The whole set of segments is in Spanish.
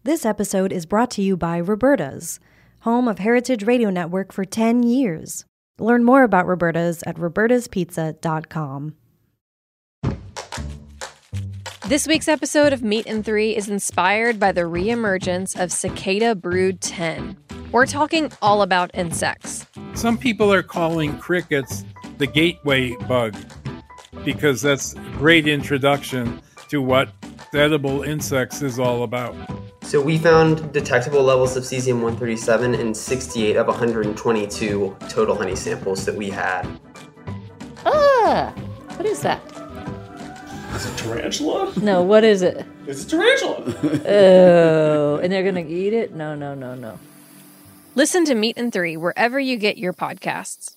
This episode is brought to you by Roberta's, home of Heritage Radio Network for 10 years. Learn more about Roberta's at robertaspizza.com. This week's episode of Meat and Three is inspired by the reemergence of Cicada Brood 10. We're talking all about insects. Some people are calling crickets the gateway bug because that's a great introduction to what edible insects is all about. So we found detectable levels of cesium-137 in 68 of 122 total honey samples that we had. What is that? Is it tarantula? No, what is it? It's a tarantula. Oh, and they're going to eat it? No. Listen to Meat and Three wherever you get your podcasts.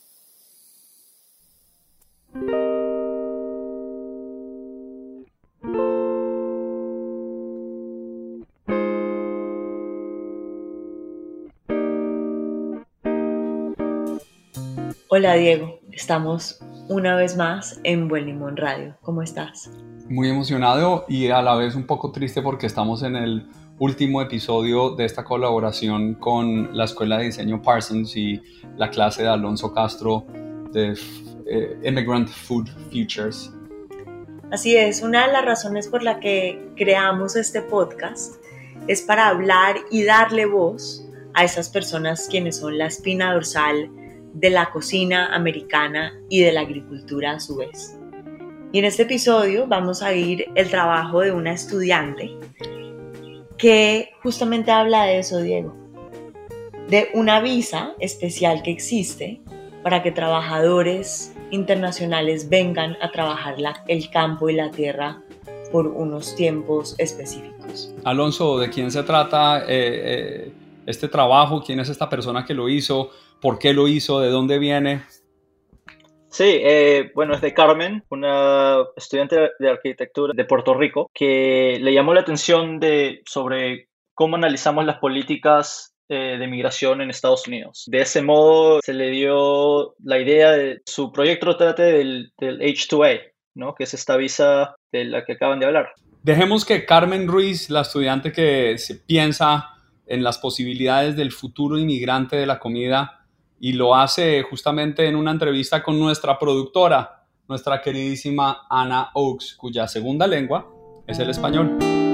Hola Diego, estamos una vez más en Buen Limón Radio. ¿Cómo estás? Muy emocionado y a la vez un poco triste porque estamos en el último episodio de esta colaboración con la Escuela de Diseño Parsons y la clase de Alonso Castro de Immigrant Food Futures. Así es, una de las razones por la que creamos este podcast es para hablar y darle voz a esas personas quienes son la espina dorsal de la cocina americana y de la agricultura a su vez. Y en este episodio vamos a oír el trabajo de una estudiante que justamente habla de eso, Diego, de una visa especial que existe para que trabajadores internacionales vengan a trabajar el campo y la tierra por unos tiempos específicos. Alonso, ¿de quién se trata este trabajo? ¿Quién es esta persona que lo hizo? ¿Por qué lo hizo? ¿De dónde viene? Sí, bueno, es de Carmen, una estudiante de arquitectura de Puerto Rico, que le llamó la atención sobre cómo analizamos las políticas de migración en Estados Unidos. De ese modo se le dio la idea de su proyecto trate del H-2A, ¿no? Que es esta visa de la que acaban de hablar. Dejemos que Carmen Ruiz, la estudiante que se piensa en las posibilidades del futuro inmigrante de la comida, y lo hace justamente en una entrevista con nuestra productora, nuestra queridísima Ana Oaks, cuya segunda lengua es el español.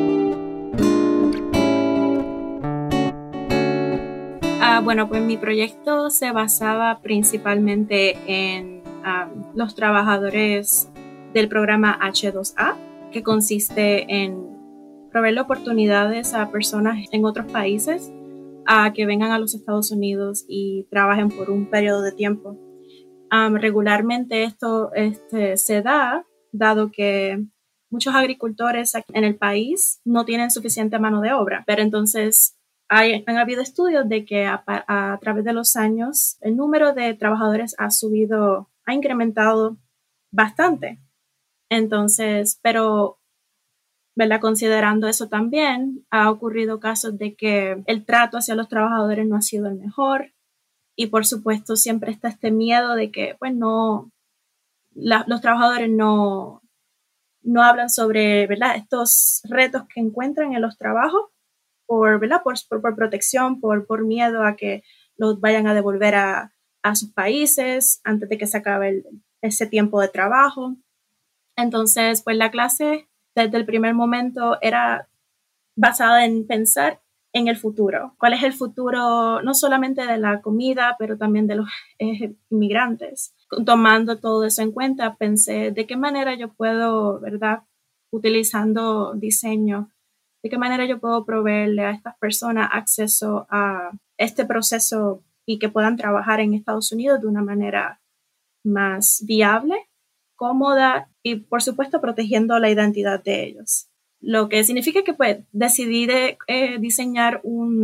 Bueno, pues mi proyecto se basaba principalmente en los trabajadores del programa H2A, que consiste en proveer oportunidades a personas en otros países a que vengan a los Estados Unidos y trabajen por un periodo de tiempo. Regularmente esto se da, dado que muchos agricultores en el país no tienen suficiente mano de obra, pero entonces han habido estudios de que a través de los años el número de trabajadores ha incrementado bastante. Entonces, pero ¿verdad? Considerando eso también, ha ocurrido casos de que el trato hacia los trabajadores no ha sido el mejor y por supuesto siempre está este miedo de que pues los trabajadores no hablan sobre, ¿verdad? Estos retos que encuentran en los trabajos ¿verdad? Por protección, por miedo a que los vayan a devolver a sus países antes de que se acabe ese tiempo de trabajo. Entonces, pues la clase desde el primer momento era basada en pensar en el futuro. ¿Cuál es el futuro no solamente de la comida, pero también de los inmigrantes? Tomando todo eso en cuenta, pensé de qué manera yo puedo, ¿verdad? Utilizando diseño, de qué manera yo puedo proveerle a estas personas acceso a este proceso y que puedan trabajar en Estados Unidos de una manera más viable, cómoda y, por supuesto, protegiendo la identidad de ellos. Lo que significa que pues, decidí diseñar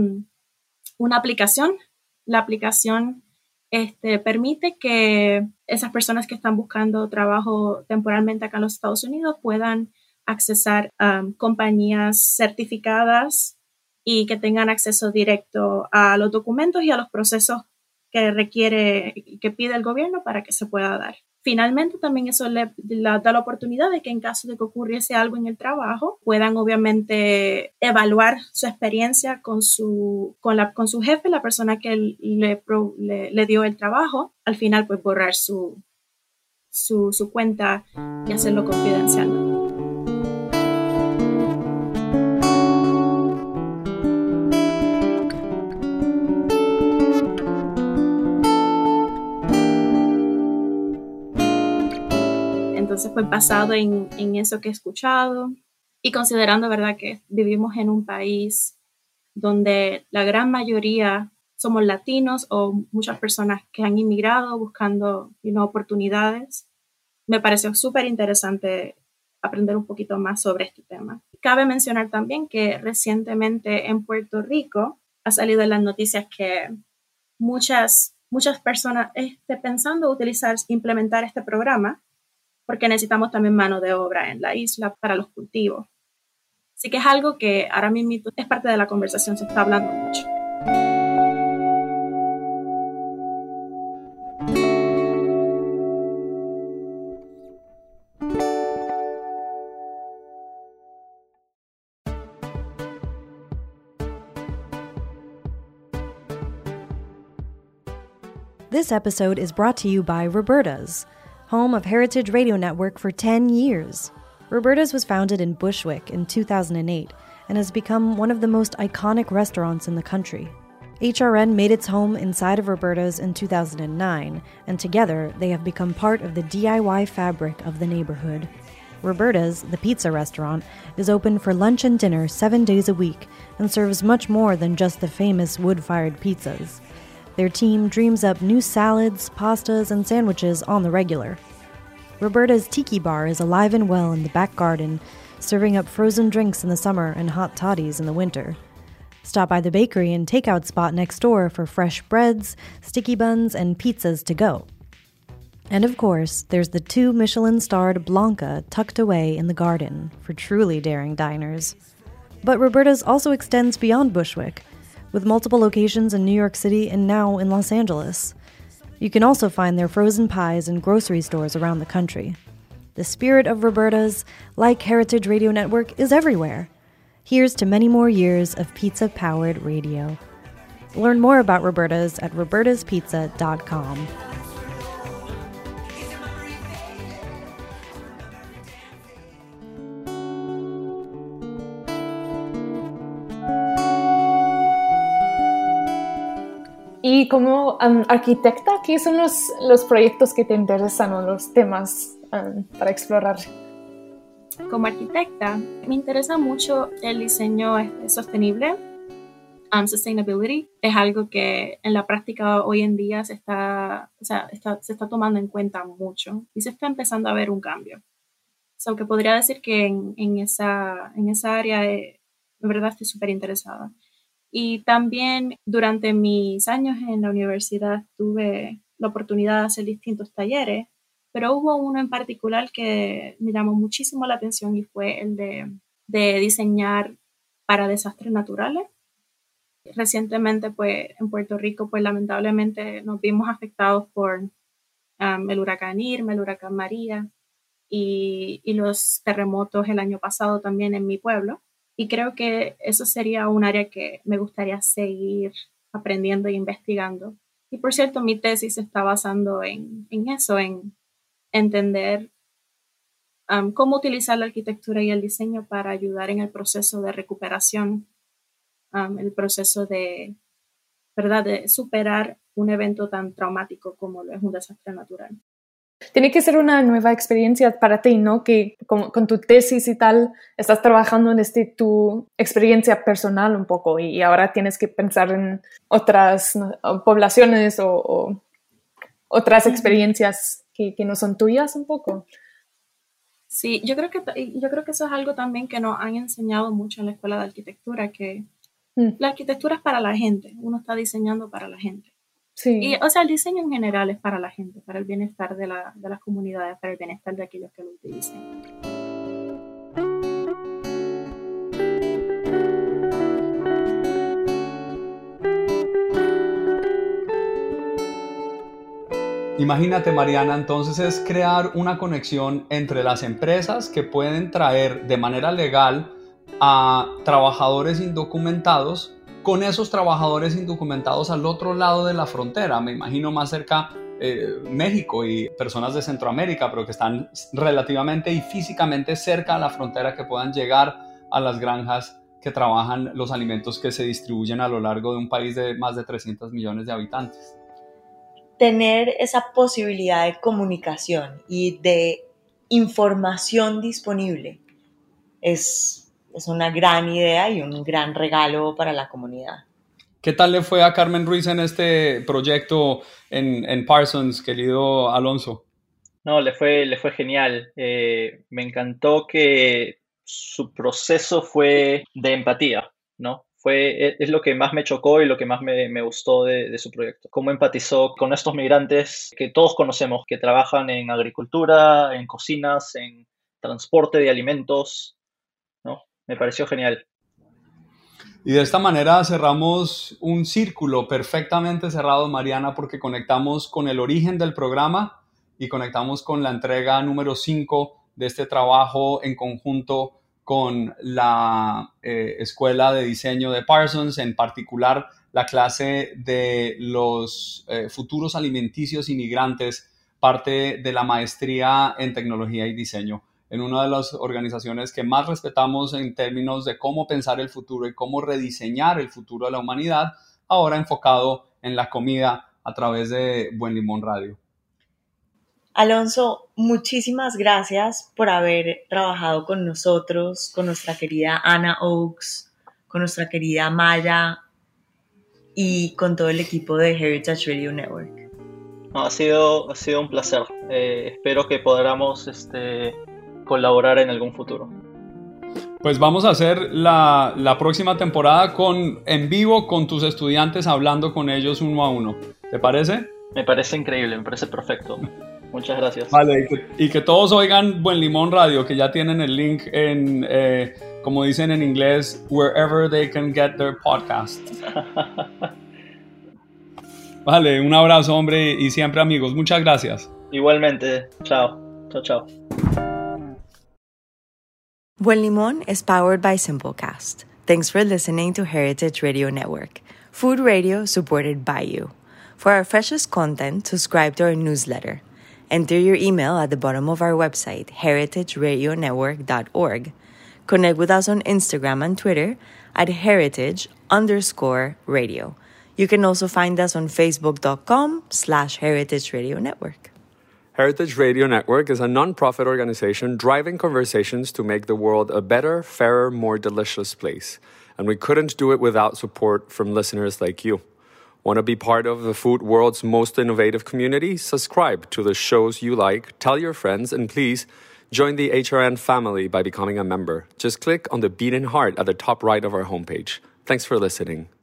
una aplicación. La aplicación permite que esas personas que están buscando trabajo temporalmente acá en los Estados Unidos puedan accesar a compañías certificadas y que tengan acceso directo a los documentos y a los procesos que requiere, que pide el gobierno para que se pueda dar. Finalmente, también eso le da la oportunidad de que en caso de que ocurriese algo en el trabajo, puedan obviamente evaluar su experiencia con su jefe, la persona que le dio el trabajo. Al final, pues borrar su cuenta y hacerlo confidencial. Entonces, pues basado en eso que he escuchado y considerando, ¿verdad?, que vivimos en un país donde la gran mayoría somos latinos o muchas personas que han inmigrado buscando oportunidades, me pareció súper interesante aprender un poquito más sobre este tema. Cabe mencionar también que recientemente en Puerto Rico ha salido en las noticias que muchas personas están pensando implementar este programa porque necesitamos también mano de obra en la isla para los cultivos. Así que es algo que ahora mismo es parte de la conversación, se está hablando mucho. This episode is brought to you by Roberta's, home of Heritage Radio Network for 10 years. Roberta's was founded in Bushwick in 2008 and has become one of the most iconic restaurants in the country. HRN made its home inside of Roberta's in 2009, and together they have become part of the DIY fabric of the neighborhood. Roberta's, the pizza restaurant, is open for lunch and dinner 7 days a week and serves much more than just the famous wood-fired pizzas. Their team dreams up new salads, pastas, and sandwiches on the regular. Roberta's Tiki Bar is alive and well in the back garden, serving up frozen drinks in the summer and hot toddies in the winter. Stop by the bakery and takeout spot next door for fresh breads, sticky buns, and pizzas to go. And of course, there's the 2 Michelin-starred Blanca tucked away in the garden for truly daring diners. But Roberta's also extends beyond Bushwick, with multiple locations in New York City and now in Los Angeles. You can also find their frozen pies in grocery stores around the country. The spirit of Roberta's, like Heritage Radio Network, is everywhere. Here's to many more years of pizza-powered radio. Learn more about Roberta's at robertaspizza.com. Y como arquitecta, ¿qué son los proyectos que te interesan o los temas para explorar? Como arquitecta, me interesa mucho el diseño sostenible. Sustainability es algo que en la práctica hoy en día se está tomando en cuenta mucho y se está empezando a ver un cambio. So que podría decir que en esa área, en verdad, estoy súper interesada. Y también durante mis años en la universidad tuve la oportunidad de hacer distintos talleres, pero hubo uno en particular que me llamó muchísimo la atención y fue el de diseñar para desastres naturales. Recientemente, pues, en Puerto Rico, pues, lamentablemente nos vimos afectados por el huracán Irma, el huracán María y los terremotos el año pasado también en mi pueblo. Y creo que eso sería un área que me gustaría seguir aprendiendo e investigando. Y por cierto, mi tesis se está basando en eso, en entender cómo utilizar la arquitectura y el diseño para ayudar en el proceso de recuperación, el proceso de superar un evento tan traumático como lo es un desastre natural. Tiene que ser una nueva experiencia para ti, ¿no? Que con tu tesis y tal estás trabajando desde tu experiencia personal un poco y ahora tienes que pensar en otras poblaciones o otras experiencias que no son tuyas un poco. Sí, yo creo que eso es algo también que nos han enseñado mucho en la escuela de arquitectura, que la arquitectura es para la gente, uno está diseñando para la gente. Sí. Y, el diseño en general es para la gente, para el bienestar de las comunidades, para el bienestar de aquellos que lo utilicen. Imagínate, Mariana, entonces es crear una conexión entre las empresas que pueden traer de manera legal a trabajadores indocumentados con esos trabajadores indocumentados al otro lado de la frontera. Me imagino más cerca México y personas de Centroamérica, pero que están relativamente y físicamente cerca a la frontera, que puedan llegar a las granjas que trabajan los alimentos que se distribuyen a lo largo de un país de más de 300 millones de habitantes. Tener esa posibilidad de comunicación y de información disponible es una gran idea y un gran regalo para la comunidad. ¿Qué tal le fue a Carmen Ruiz en este proyecto en Parsons, querido Alonso? No, le fue genial. Me encantó que su proceso fue de empatía, ¿no? Es lo que más me chocó y lo que más me gustó de su proyecto. Cómo empatizó con estos migrantes que todos conocemos, que trabajan en agricultura, en cocinas, en transporte de alimentos, ¿no? Me pareció genial. Y de esta manera cerramos un círculo perfectamente cerrado, Mariana, porque conectamos con el origen del programa y conectamos con la entrega número 5 de este trabajo en conjunto con la Escuela de Diseño de Parsons, en particular la clase de los futuros alimenticios inmigrantes, parte de la maestría en tecnología y diseño, en una de las organizaciones que más respetamos en términos de cómo pensar el futuro y cómo rediseñar el futuro de la humanidad, ahora enfocado en la comida a través de Buen Limón Radio. Alonso, muchísimas gracias por haber trabajado con nosotros, con nuestra querida Ana Oaks, con nuestra querida Maya y con todo el equipo de Heritage Radio Network. No, ha sido un placer. Espero que podamos colaborar en algún futuro. Pues vamos a hacer la próxima temporada en vivo con tus estudiantes, hablando con ellos uno a uno. ¿Te parece? Me parece increíble, me parece perfecto. Muchas gracias. Vale, y que todos oigan Buen Limón Radio, que ya tienen el link en, como dicen en inglés, wherever they can get their podcasts. Vale, un abrazo, hombre, y siempre amigos. Muchas gracias. Igualmente. Chao. Chao, chao. Buen Limón is powered by Simplecast. Thanks for listening to Heritage Radio Network, food radio supported by you. For our freshest content, subscribe to our newsletter. Enter your email at the bottom of our website, heritageradionetwork.org. Connect with us on Instagram and Twitter at heritage_radio. You can also find us on facebook.com/Heritage Radio Network. Heritage Radio Network is a non-profit organization driving conversations to make the world a better, fairer, more delicious place. And we couldn't do it without support from listeners like you. Want to be part of the food world's most innovative community? Subscribe to the shows you like, tell your friends, and please join the HRN family by becoming a member. Just click on the beating heart at the top right of our homepage. Thanks for listening.